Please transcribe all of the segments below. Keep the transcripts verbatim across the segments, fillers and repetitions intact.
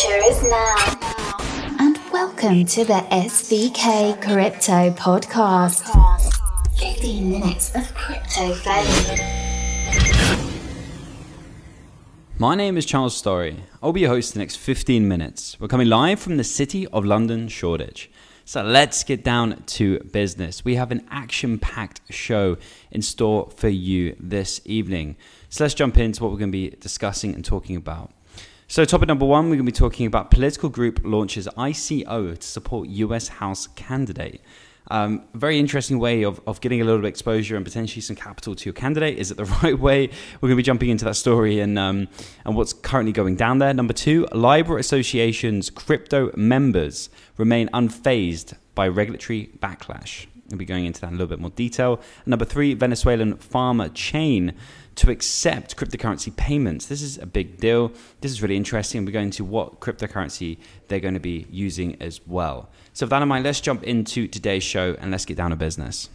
future is now. And welcome to the S V K Crypto Podcast. fifteen minutes of crypto fame. My name is Charles Story. I'll be your host the next fifteen minutes. We're coming live from the City of London, Shoreditch. So let's get down to business. We have an action-packed show in store for you this evening. So let's jump into what we're going to be discussing and talking about. So topic number one, we're going to be talking about political group launches I C O to support U S House candidate. Um, very interesting way of, of getting a little bit of exposure and potentially some capital to your candidate. Is it the right way? We're going to be jumping into that story and um, and what's currently going down there. Number two, Libra Association's crypto members remain unfazed by regulatory backlash. We'll be going into that in a little bit more detail. And number three, Venezuelan farmer chain to accept cryptocurrency payments. This is a big deal. This is really interesting. We're going to what cryptocurrency they're going to be using as well. So with that in mind, let's jump into today's show and let's get down to business.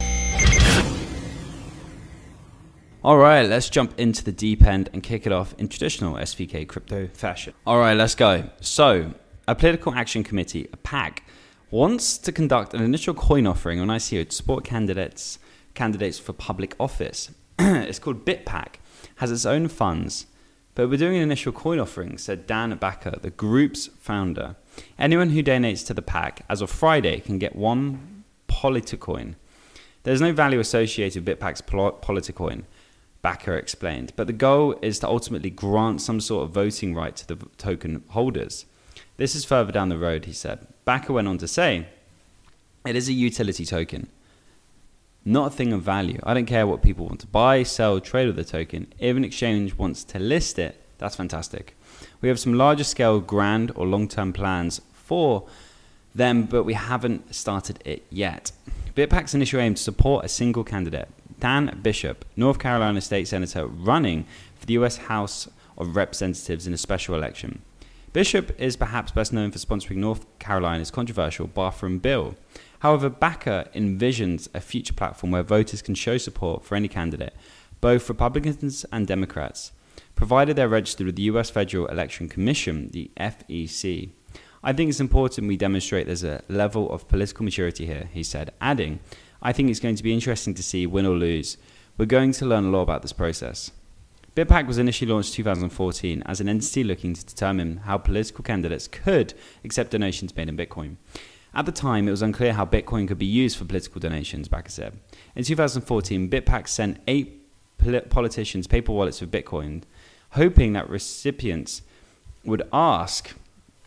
All right, let's jump into the deep end and kick it off in traditional S V K crypto fashion. All right, let's go. So a political action committee, a PAC, wants to conduct an initial coin offering on I C O to support candidates candidates for public office. It's called BitPack, has its own funds, but we're doing an initial coin offering, said Dan Backer, the group's founder. Anyone who donates to the PAC as of Friday can get one Politicoin. There's no value associated with BitPack's Politicoin, Backer explained, but the goal is to ultimately grant some sort of voting right to the token holders. This is further down the road, he said. Backer went on to say, it is a utility token, not a thing of value. I don't care what people want to buy, sell, trade with the token. If an exchange wants to list it, that's fantastic. We have some larger scale grand or long-term plans for them, but we haven't started it yet. BitPack's initial aim to support a single candidate, Dan Bishop, North Carolina state senator running for the U S House of Representatives in a special election. Bishop is perhaps best known for sponsoring North Carolina's controversial bathroom bill. However, Backer envisions a future platform where voters can show support for any candidate, both Republicans and Democrats, provided they're registered with the U S Federal Election Commission, the F E C. I think it's important we demonstrate there's a level of political maturity here, he said, adding, I think it's going to be interesting to see win or lose. We're going to learn a lot about this process. BitPack was initially launched in two thousand fourteen as an entity looking to determine how political candidates could accept donations made in Bitcoin. At the time, it was unclear how Bitcoin could be used for political donations, Backer said. In two thousand fourteen, BitPack sent eight pol- politicians paper wallets with Bitcoin, hoping that recipients would ask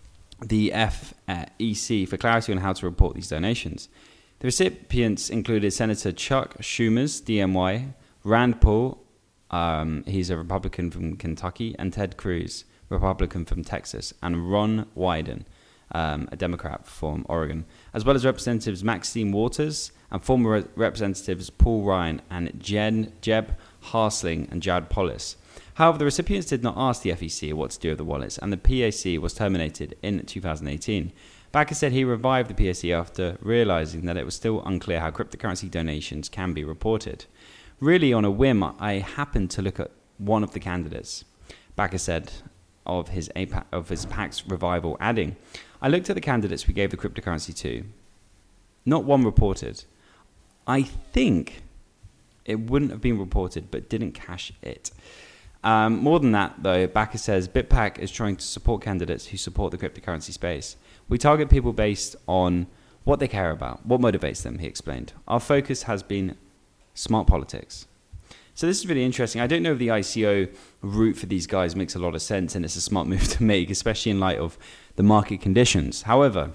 the F E C for clarity on how to report these donations. The recipients included Senator Chuck Schumer's D M Y, Rand Paul, um, he's a Republican from Kentucky, and Ted Cruz, Republican from Texas, and Ron Wyden, Um, a Democrat from Oregon, as well as Representatives Maxine Waters and former re- Representatives Paul Ryan and Jen, Jeb Harsling and Jared Polis. However, the recipients did not ask the F E C what to do with the wallets, and the P A C was terminated in two thousand eighteen. Backer said he revived the P A C after realizing that it was still unclear how cryptocurrency donations can be reported. Really, on a whim, I happened to look at one of the candidates, Backer said, of his A PAC, of his PAC's revival, adding, I looked at the candidates we gave the cryptocurrency to. Not one reported. I think it wouldn't have been reported, but didn't cash it. Um, more than that, though, Backer says BitPack is trying to support candidates who support the cryptocurrency space. We target people based on what they care about, what motivates them, he explained. Our focus has been smart politics. So this is really interesting. I don't know if the I C O route for these guys makes a lot of sense and it's a smart move to make, especially in light of the market conditions. However,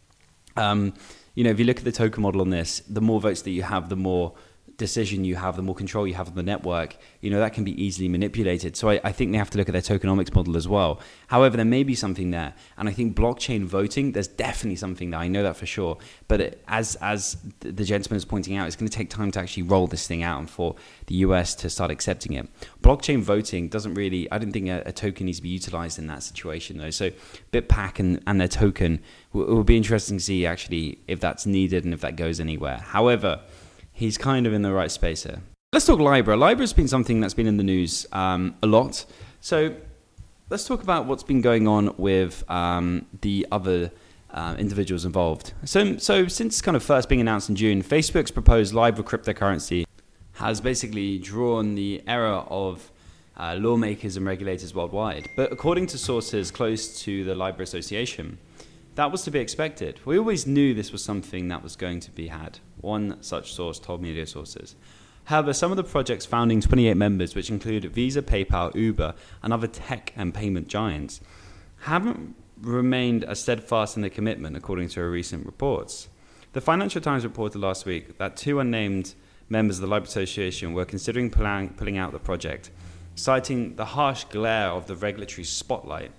um, you know, if you look at the token model on this, the more votes that you have, the more decision you have, the more control you have of the network, you know, that can be easily manipulated. So I, I think they have to look at their tokenomics model as well. However, there may be something there. And I think blockchain voting, there's definitely something there. I know that for sure. But it, as as the gentleman is pointing out, it's going to take time to actually roll this thing out and for the U S to start accepting it. Blockchain voting doesn't really, I don't think a, a token needs to be utilized in that situation though. So BitPack and, and their token, it will be interesting to see actually if that's needed and if that goes anywhere. However, he's kind of in the right space here. Let's talk Libra. Libra has been something that's been in the news um, a lot. So let's talk about what's been going on with um, the other uh, individuals involved. So, so since kind of first being announced in June, Facebook's proposed Libra cryptocurrency has basically drawn the ire of uh, lawmakers and regulators worldwide. But according to sources close to the Libra Association, that was to be expected. We always knew this was something that was going to be had. One such source told media sources. However, some of the project's founding twenty-eight members, which include Visa, PayPal, Uber, and other tech and payment giants, haven't remained as steadfast in their commitment, according to recent reports. The Financial Times reported last week that two unnamed members of the Libra Association were considering pulling, pulling out the project, citing the harsh glare of the regulatory spotlight.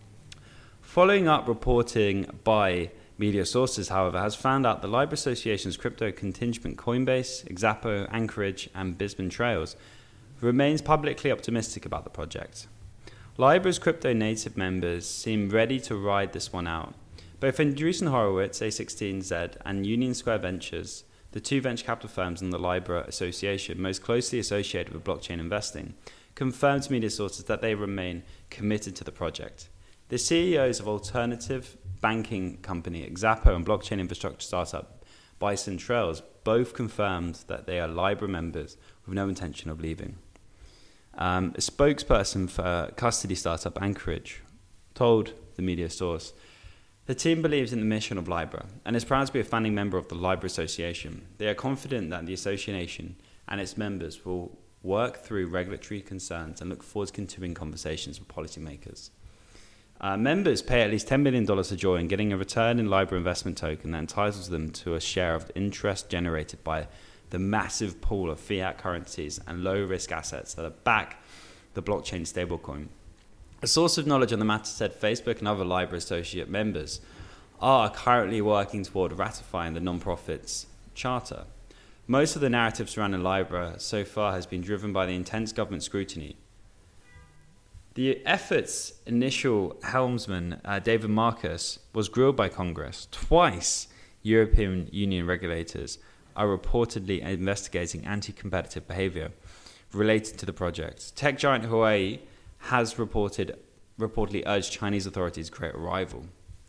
Following up reporting by media sources, however, has found out the Libra Association's crypto contingent Coinbase, Xapo, Anchorage, and Bisbee Trails remains publicly optimistic about the project. Libra's crypto native members seem ready to ride this one out. Both Andreessen Horowitz, A sixteen Z, and Union Square Ventures, the two venture capital firms in the Libra Association most closely associated with blockchain investing, confirmed to media sources that they remain committed to the project. The C E Os of alternative banking company Xapo and blockchain infrastructure startup Bison Trails both confirmed that they are Libra members with no intention of leaving. Um, a spokesperson for custody startup Anchorage told the media source, the team believes in the mission of Libra and is proud to be a founding member of the Libra Association. They are confident that the association and its members will work through regulatory concerns and look forward to continuing conversations with policymakers. Uh, members pay at least ten million dollars to join, getting a return in Libra investment token that entitles them to a share of the interest generated by the massive pool of fiat currencies and low-risk assets that back the blockchain stablecoin. A source of knowledge on the matter said Facebook and other Libra associate members are currently working toward ratifying the non-profit's charter. Most of the narrative surrounding Libra so far has been driven by the intense government scrutiny. The effort's initial helmsman, uh, David Marcus, was grilled by Congress. Twice, European Union regulators are reportedly investigating anti-competitive behavior related to the project. Tech giant Huawei has reported, reportedly urged Chinese authorities to create a rival.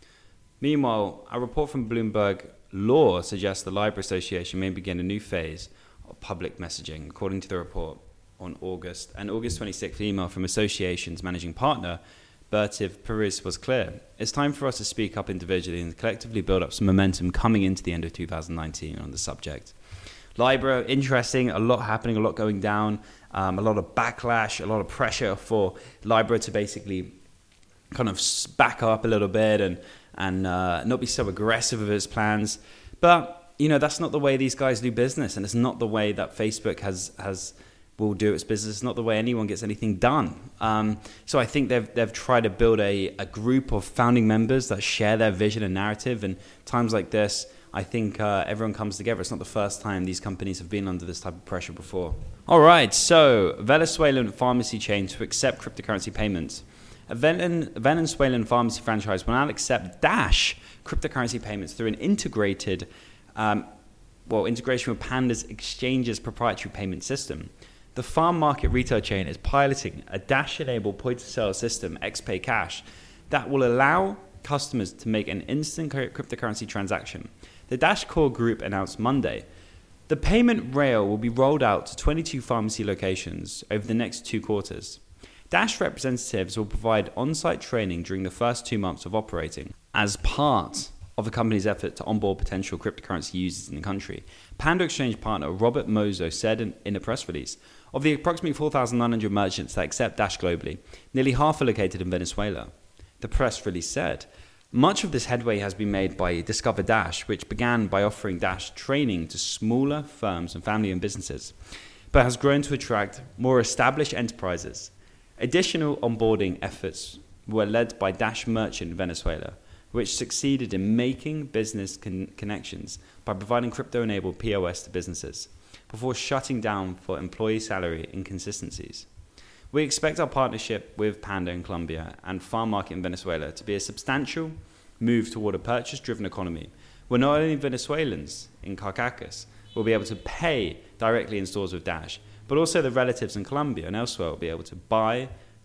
Meanwhile, a report from Bloomberg Law suggests the Libra Association may begin a new phase of public messaging, according to the report. On August, an August twenty-sixth email from Association's managing partner, Bertiv Perez, was clear. It's time for us to speak up individually and collectively build up some momentum coming into the end of two thousand nineteen on the subject. Libra, interesting, a lot happening, a lot going down, um, a lot of backlash, a lot of pressure for Libra to basically kind of back up a little bit and, and uh, not be so aggressive with its plans. But, you know, that's not the way these guys do business, and it's not the way that Facebook has has... will do its business. It's not the way anyone gets anything done. Um, so I think they've they've tried to build a, a group of founding members that share their vision and narrative. And times like this, I think uh, everyone comes together. It's not the first time these companies have been under this type of pressure before. All right, so Venezuelan pharmacy chain to accept cryptocurrency payments. A Venezuelan pharmacy franchise will now accept Dash cryptocurrency payments through an integrated, um, well, integration with Panda's Exchange's proprietary payment system. The farm market retail chain is piloting a Dash-enabled point-of-sale system, XPay Cash, that will allow customers to make an instant cryptocurrency transaction. The Dash Core Group announced Monday. The payment rail will be rolled out to twenty-two pharmacy locations over the next two quarters. Dash representatives will provide on-site training during the first two months of operating as part of the company's effort to onboard potential cryptocurrency users in the country. Panda Exchange partner Robert Mozo said in, in a press release, of the approximately four thousand nine hundred merchants that accept Dash globally, nearly half are located in Venezuela. The press release said, much of this headway has been made by Discover Dash, which began by offering Dash training to smaller firms and family-owned businesses, but has grown to attract more established enterprises. Additional onboarding efforts were led by Dash Merchant in Venezuela, which succeeded in making business con- connections by providing crypto-enabled P O S to businesses, before shutting down for employee salary inconsistencies. We expect our partnership with Panda in Colombia and Farm Market in Venezuela to be a substantial move toward a purchase-driven economy, where not only Venezuelans in Caracas will be able to pay directly in stores with Dash, but also the relatives in Colombia and elsewhere will be able to buy,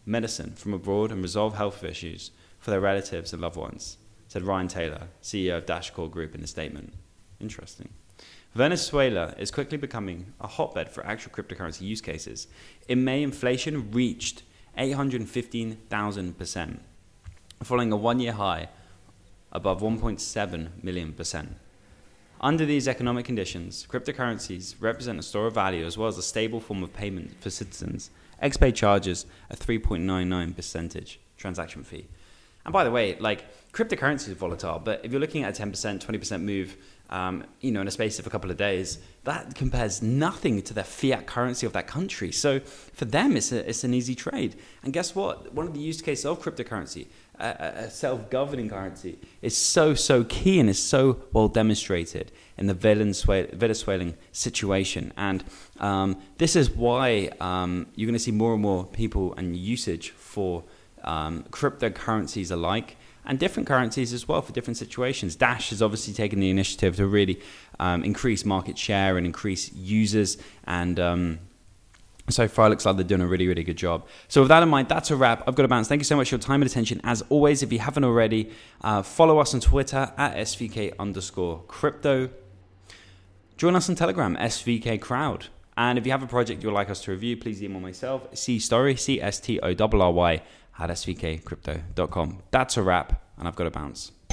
medicine from abroad and resolve health issues for their relatives and loved ones, said Ryan Taylor, C E O of Dashcore Group in a statement. Interesting. Venezuela is quickly becoming a hotbed for actual cryptocurrency use cases. In May, inflation reached eight hundred fifteen thousand percent, following a one-year high above one point seven million percent. Under these economic conditions, cryptocurrencies represent a store of value as well as a stable form of payment for citizens. XPay charges a three point nine nine percent transaction fee. And by the way, like, cryptocurrency is volatile, but if you're looking at a ten percent, twenty percent move, um, you know, in a space of a couple of days, that compares nothing to the fiat currency of that country. So for them, it's a, it's an easy trade. And guess what? One of the use cases of cryptocurrency, a, a self-governing currency, is so, so key and is so well demonstrated in the Venezuelan situation. And um, this is why um, you're going to see more and more people and usage for um, cryptocurrencies alike, and different currencies as well for different situations. Dash has obviously taken the initiative to really um, increase market share and increase users, and um, so far it looks like they're doing a really, really good job. So with that in mind, that's a wrap. I've got to bounce. Thank you so much for your time and attention. As always, if you haven't already, uh, follow us on Twitter at S V K underscore crypto. Join us on Telegram, S V K Crowd. And if you have a project you'd like us to review, please email myself, cstory, C S T O R R Y, at S V K crypto dot com. That's a wrap, and I've got to bounce.